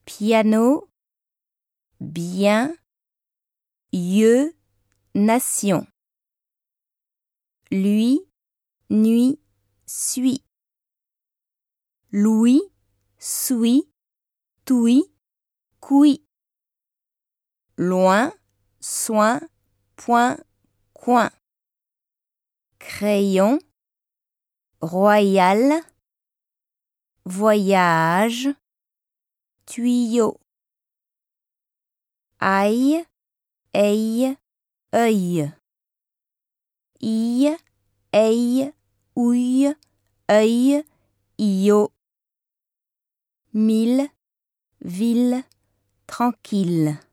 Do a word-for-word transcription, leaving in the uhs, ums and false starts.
piano, bien, yeux, nation. Lui, nuit, suis. Louis, suis, touis, couis. Loin, soin, point, coin. Crayon, royal, voyage, tuyau. Ail, aille, œil. Ille, aille, ouille, œil, io. Mille, ville, tranquille.